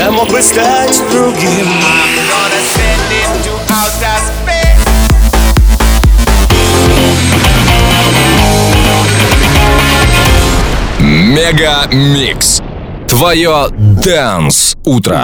я мог бы стать другим. Мега Микс. Твое Dance утро.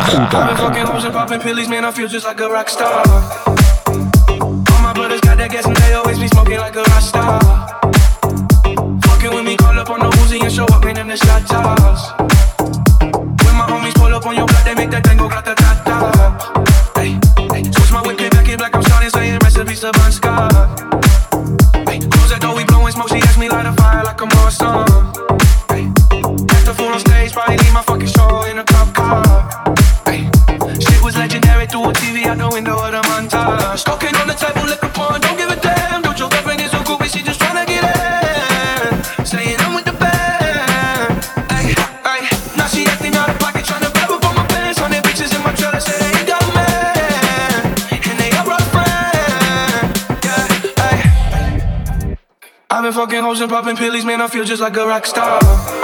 Probably leave my fucking show in a cop car. Ay, shit was legendary through a TV out the window of the montage. Cocaine on the table, liquor porn, don't give a damn. Don't your girlfriend is so cool, but she just tryna get in. Saying I'm with the band. Ay, ay, now she acting out of pocket, tryna grab up on my pants. 100 bitches in my trailer, say they ain't got a man, and they are rough friend. Yeah, ay. I've been fucking hoes and popping pillies, man, I feel just like a rock star.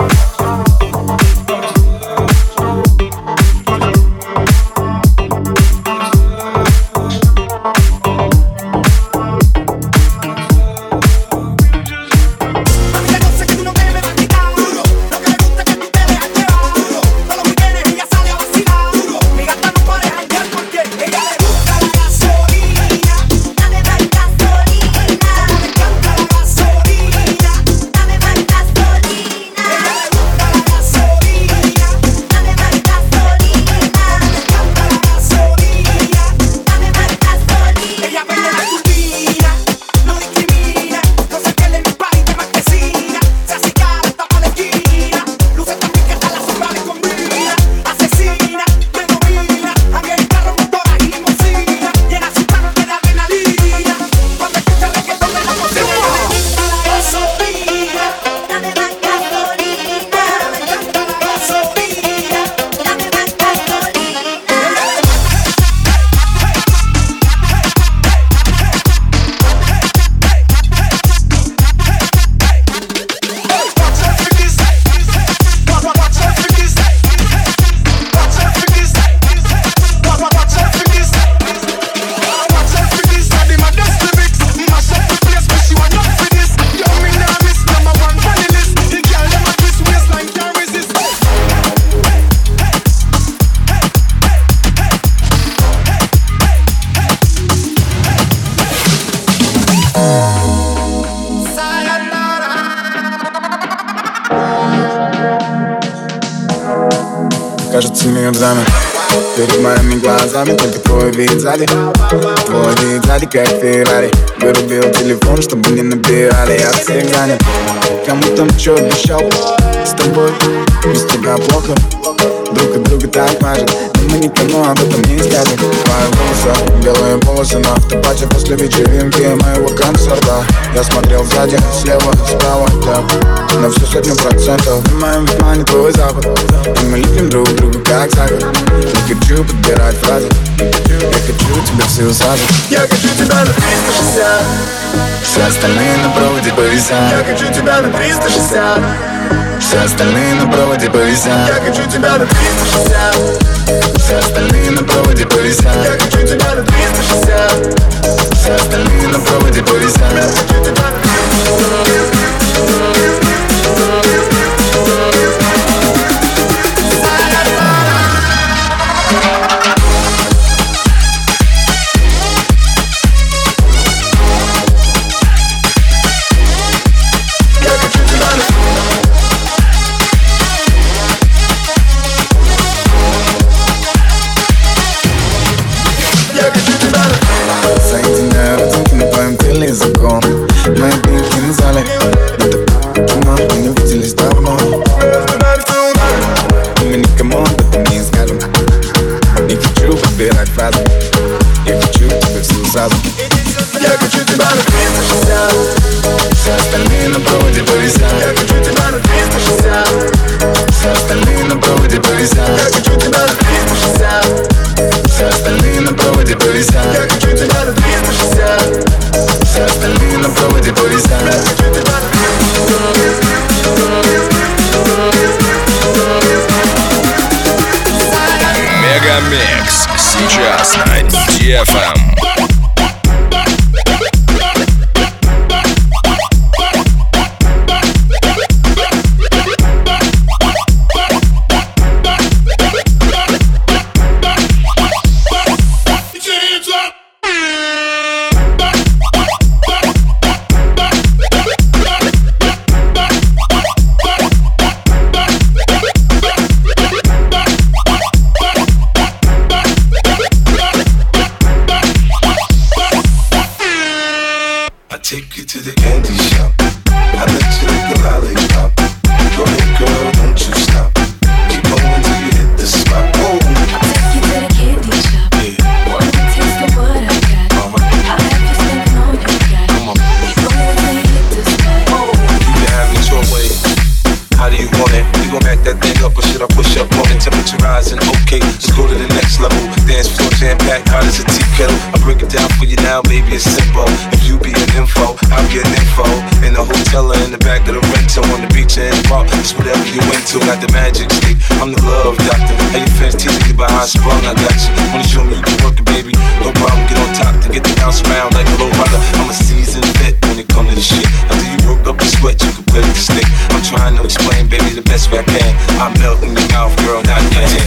Кажется, мир замер перед моими глазами, только твой вид сзади. Твой вид сзади, как Феррари. Вырубил телефон, чтобы не набирали. Я всех занят, кому там чё обещал. С тобой, без тебя плохо. Друг от друга так мажет, но мы никому об этом не скажем. Твои волосы, белые полосы на автопате после вечеринки моего концерта. Я смотрел сзади, слева, справа, так, на всю 100%. В моем внимании твой запах, и мы лепим друг друга как сахар. Не хочу подбирать фразы, я хочу тебя все усаживать. Я хочу тебя на 360, все остальные на проводе повисят. Я хочу тебя на 360, все остальные на проводе повисят. Я хочу тебя на 360, все остальные на проводе повисят. Я хочу тебя на 360, все остальные на проводе повисят. Я хочу тебя на 360. Соединяю родинки на твоем теле языком. Мои пинки на зале, DFM. Take you to the candy shop. I let you lick the lollipop. Go ahead, girl, don't you stop. Keep going till you hit the spot. Oh. Take you to the candy shop. Yeah. Want to taste of what I got? I'll have you spending all you got. Come on. Keep going till you hit the spot. Oh. You can have it your way. How do you want it? We gon' back that thing up, or should I push up on it? Temperature rising, okay, let's go to the next level. Dance floor jam-packed, hot as a tea kettle. I break it down for you now, baby, it's simple. If you be an info, I'll be an info. In the hotel or in the back of the rental, on the beach or in the park, it's whatever you into. Got the magic stick, I'm the love doctor. Hey, your fans teasing you about how I sprung, I got you. Wanna show me you can work it, baby? No problem, get on top to get the bounce around like a low rider. I'm a seasoned vet when it comes to the shit. After you work up the sweat, you can play with the stick. I'm trying to explain, baby, the best way I can. I'm melting your mouth, girl, not your hand.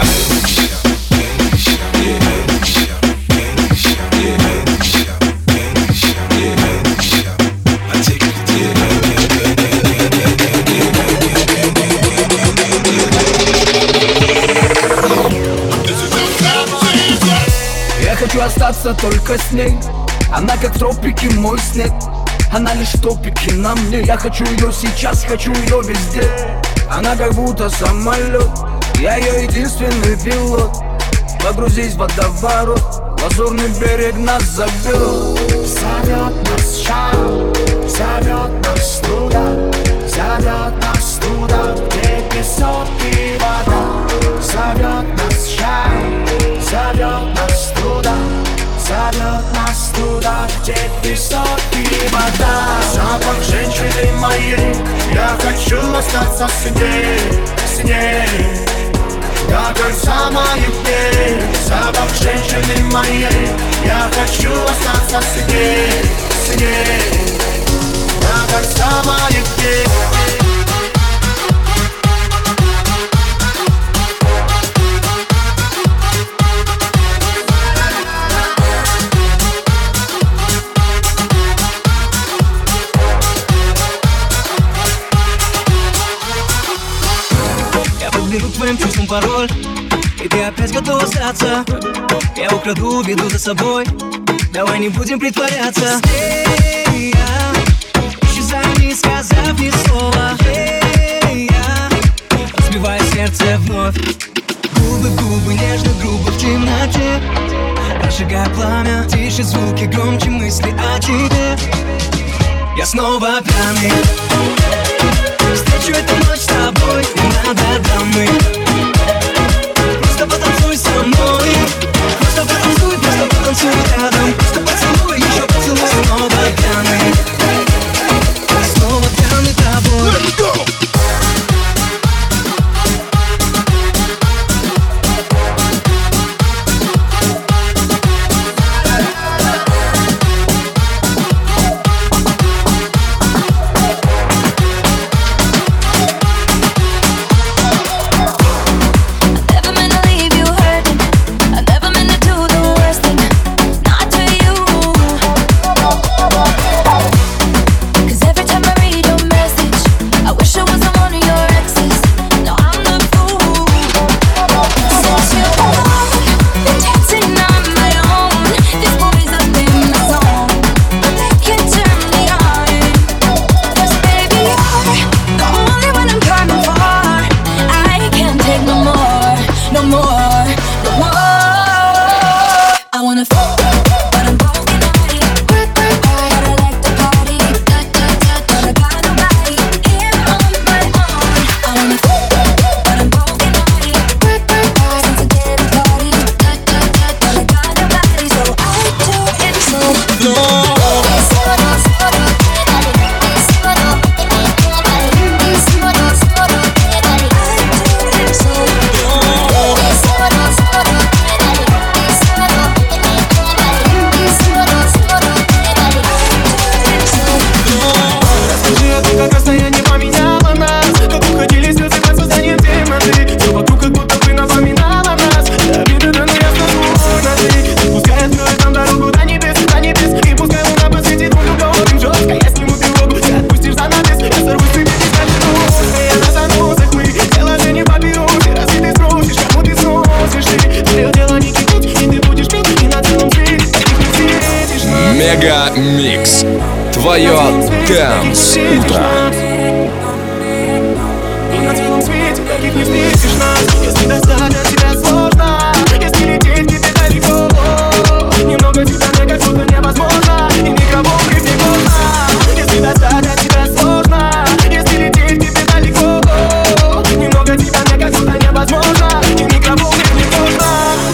Я хочу остаться только с ней. Она как тропики, мой снег. Она лишь топики на мне. Я хочу ее сейчас, хочу ее везде. Она как будто самолет, я ее единственный пилот. Погрузись в водоворот, лазурный берег нас зовет. Зовет нас шаг, зовет нас туда, зовет нас туда, где песок и вода. Зовет нас шаг, зовет нас туда, зовет нас туда, где песок и вода. Запах женщины моей, я хочу остаться с ней, с ней. До конца моих дней. Запах женщины моей, я хочу остаться с ней, с ней. До конца моих дней. Беру твоим чувством пароль, и ты опять готова остаться. Я украду, веду за собой. Давай не будем притворяться. Исчезай, не сказав ни слова. Разбивая сердце вновь. Губы в губы, нежно, грубо в темноте. Разжигая пламя, тише звуки, громче мысли о тебе. Я снова пьяный. Встречу эту ночь с тобой, не надо дамы. Просто потанцуй со мной. Просто потанцуй рядом. Просто поцелуй, еще поцелуй. Снова пьяный. Снова пьяный тобой. Let's go! Dance утро. На целом свете таких не встретишь нас. Если достать от тебя сложно, если лететь где-то далеко, немного тебя мне кажется невозможно, и микроволновки не поздно. Если достать от тебя сложно, если лететь где-то далеко, немного тебя мне кажется невозможно, и микроволновки не поздно.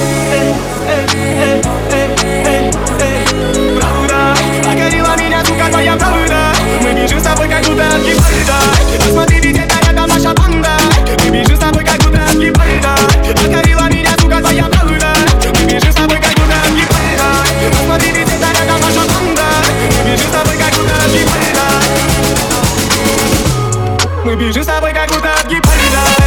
Правда, покорила меня, сука, твоя правда. Мы бежим с тобой, как будто от гепарда. Посмотри, ведь это рядом наша банда. Мы бежим с тобой, как будто от гепарда. Покорила меня, сука, твоя правда. Мы бежим с тобой, как будто от гепарда. Посмотри, ведь это рядом наша банда. Мы бежим с тобой, как будто от гепарда. Мы бежим с тобой, как будто от гепарда.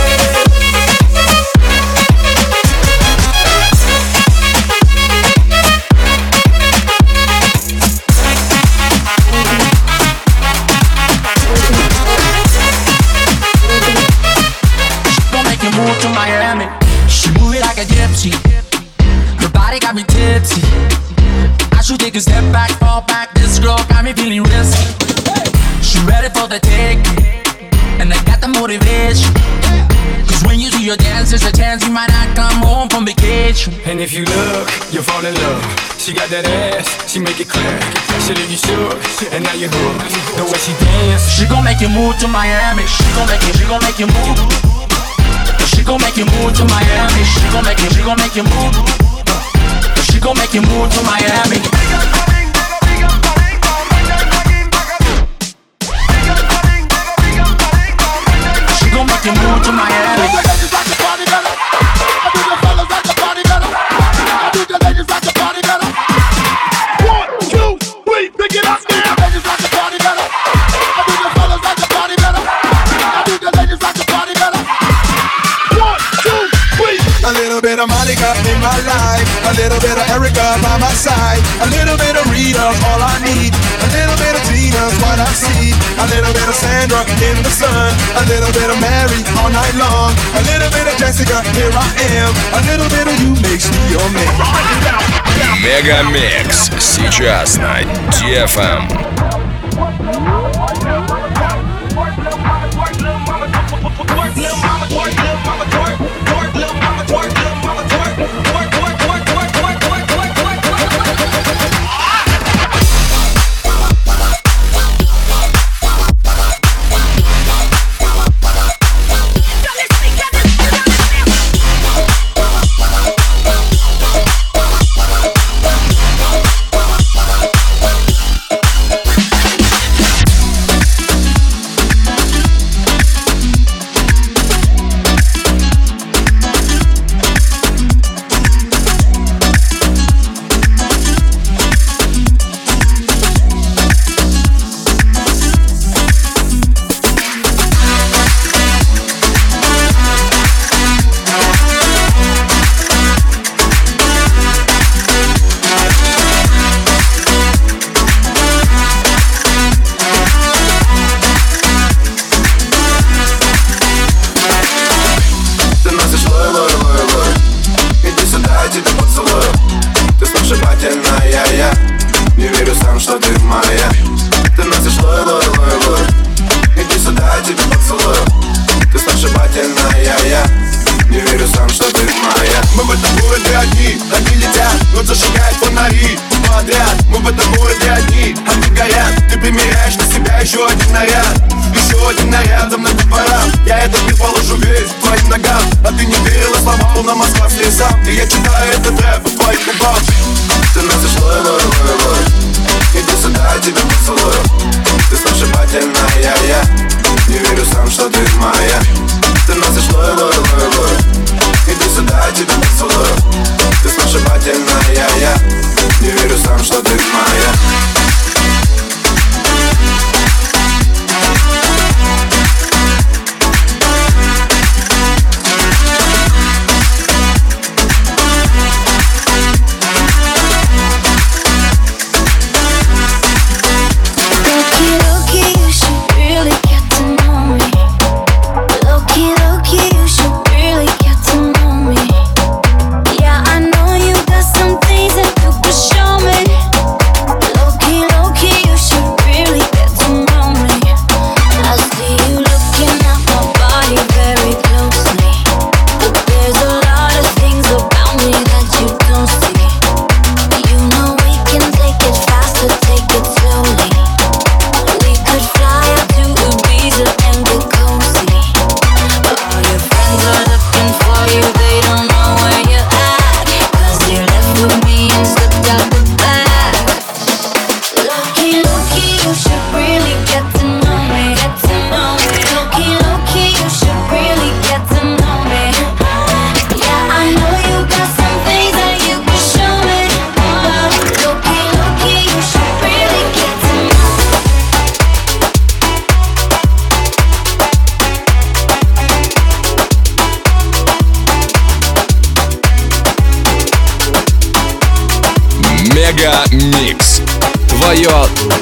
Move to Miami, she move it like a gypsy. Her body got me tipsy. I should take a step back, fall back. This girl got me feeling risky. She ready for the taking, and I got the motivation. Cause when you do your dance, there's a chance you might not come home from vacation. And if you look, you'll fall in love. She got that ass, she make it clear. She leave you shook, and now you're hooked. The way she dance, she gon' make you move to Miami. She gon' make you move. She gon' make you move to Miami. She gon' make you move. She gon' make you move to Miami. She gon' make you move to Miami. A little bit of Monica in my life, a little bit of Erica by my side, a little bit of Rita's all I need, a little bit of Tina's what I see, a little bit of Sandra in the sun, a little bit of Mary all night long, a little bit of Jessica, here I am, a little bit of you makes me your man. Мегамикс сейчас на DFM. Low-key,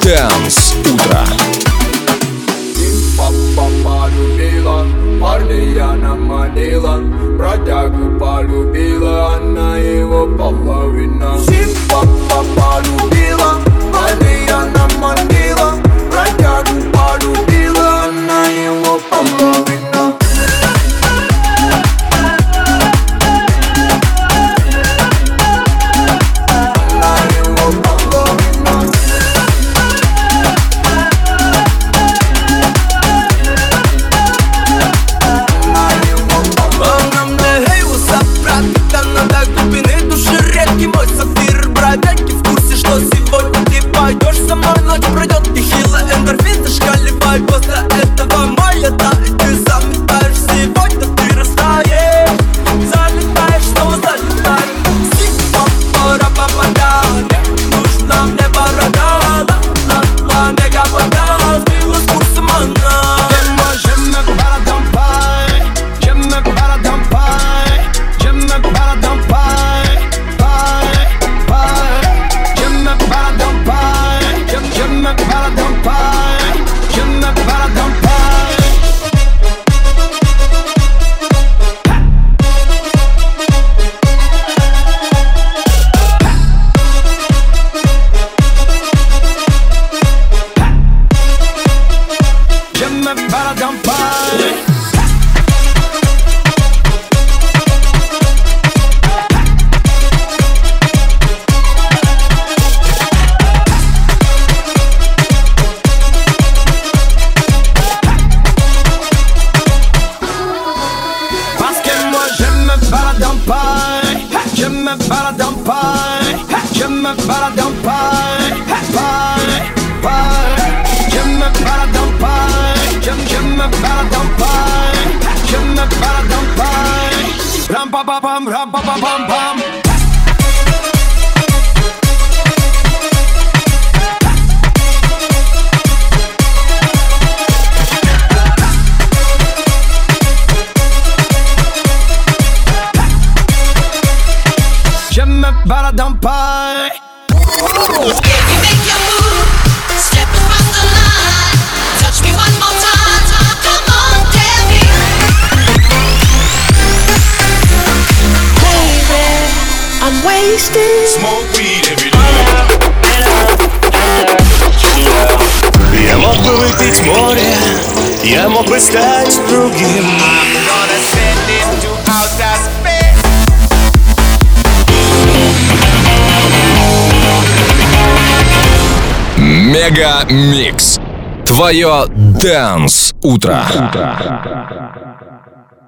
Dance утро. Полюбила, парня она манила, бродягу полюбила, она его половина. Симпа полюбила, парня она манила, бродягу полюбила, она его половина. Ram-pa-pa-pam. J'aime Baradampai. You make your move, step across the line, touch me one more time, come on, tell me. Baby, I'm wasted. Smoke weed every day. Я мог бы выпить море, я мог бы стать другим. I'm gonna send it to outer space. Мега Микс. Твое Dance утро.